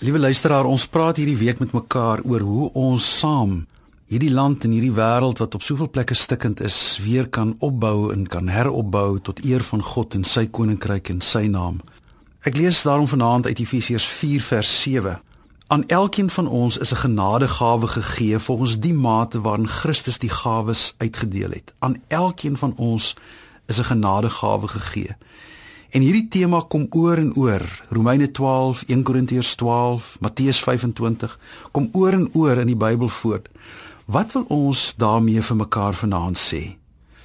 Liewe luisteraar, ons praat hierdie week met mekaar oor hoe ons saam hierdie land en hierdie wêreld wat op soveel plekke stikkend is, weer kan opbou en kan heropbou tot eer van God en sy koninkryk en sy naam. Ek lees daarom vanaand uit Efesiërs 4 vers 7. Aan elkeen van ons is 'n genadegawe gegee volgens die mate waarin Christus die gawes uitgedeel het. Aan elkeen van ons is 'n genadegawe gegee. En hierdie tema kom oor en oor, Romeine 12, 1 Korintiërs 12, Matteus 25, kom oor en oor in die Bybel voor. Wat wil ons daarmee vir mekaar vanaand sê?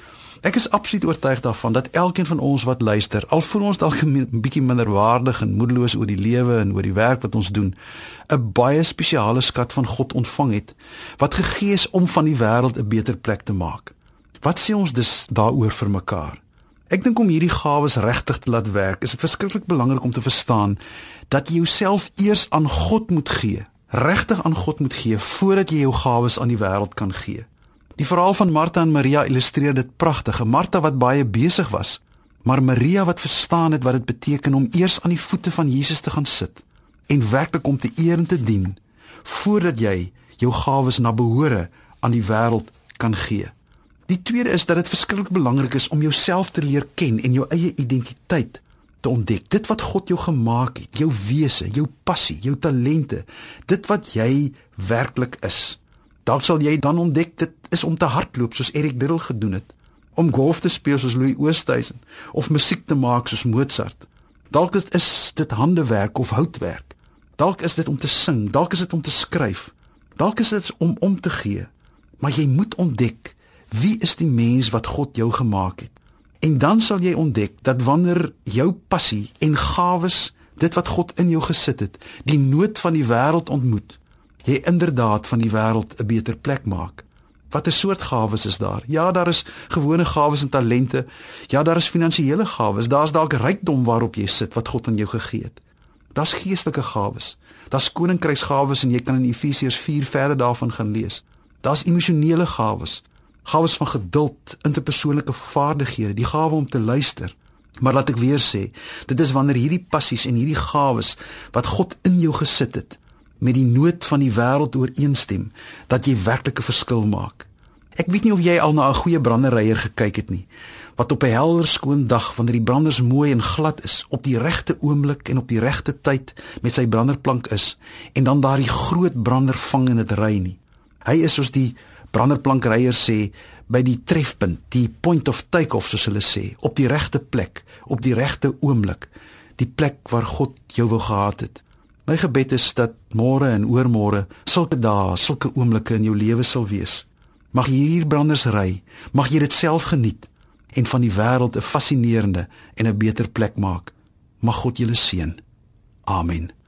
Ek is absoluut oortuig daarvan dat elkeen van ons wat luister, al voel ons dalk 'n bietjie minderwaardig en moedeloos oor die lewe en oor die werk wat ons doen, 'n baie spesiale skat van God ontvang het, wat gegee is om van die wêreld 'n beter plek te maak. Wat sê ons dus daaroor vir mekaar? Ek dink om hierdie gawes regtig te laat werk, is dit verskriklik belangrik om te verstaan dat jy jouself eers aan God moet gee, regtig aan God moet gee, voordat jy jou gawes aan die wêreld kan gee. Die verhaal van Martha en Maria illustreer dit pragtig. Martha wat baie besig was, maar Maria wat verstaan het wat dit beteken om eers aan die voete van Jesus te gaan sit, en werklik om te eer en te dien, voordat jy jou gawes na behore aan die wêreld kan gee. Die tweede is dat dit verskriklik belangrik is om jouself te leer ken en jou eie identiteit te ontdek. Dit wat God jou gemaak het, jou wese, jou passie, jou talente, dit wat jy werklik is. Dalk sal jy dan ontdek dit is om te hardloop soos Eric Liddell gedoen het, om golf te speel soos Louis Oosthuizen, of musiek te maak soos Mozart. Dalk is dit handewerk of houtwerk. Dalk is dit om te sing, dalk is dit om te skryf. Dalk is dit om te gee. Maar jy moet ontdek, wie is die mens wat God jou gemaak het? En dan sal jy ontdek dat wanneer jou passie en gawes, dit wat God in jou gesit het, die nood van die wêreld ontmoet, jy inderdaad van die wêreld 'n beter plek maak. Watter soort gawes is daar? Ja, daar is gewone gawes en talente. Ja, daar is finansiële gawes. Daar's dalk rykdom waarop jy sit wat God aan jou gegee het. Daar's geestelike gawes. Daar's koninkryksgawes en jy kan in Efesiërs 4 verder daarvan gaan lees. Daar's emosionele gawes. Gawes van geduld, interpersoonlike vaardighede, die gawe om te luister. Maar laat ek weer sê, dit is wanneer hierdie passies en hierdie gawes wat God in jou gesit het, met die nood van die wêreld ooreenstem, dat jy werklik 'n verskil maak. Ek weet nie of jy al na 'n goeie branderyer gekyk het nie, wat op 'n helder skoon dag, wanneer die branders mooi en glad is, op die regte oomblik en op die regte tyd met sy branderplank is, en dan daardie groot brander vang en dit ry nie. Hy is soos die branderplankryer sê, by die trefpunt, die point of take-off soos hulle sê, op die regte plek, op die regte oomblik, die plek waar God jou wou gehad het. My gebed is dat môre en oormôre sulke dae, sulke oomblikke in jou lewe sal wees. Mag jy hierdie branders ry, mag jy dit self geniet en van die wêreld 'n fascinerende en 'n beter plek maak. Mag God julle seën. Amen.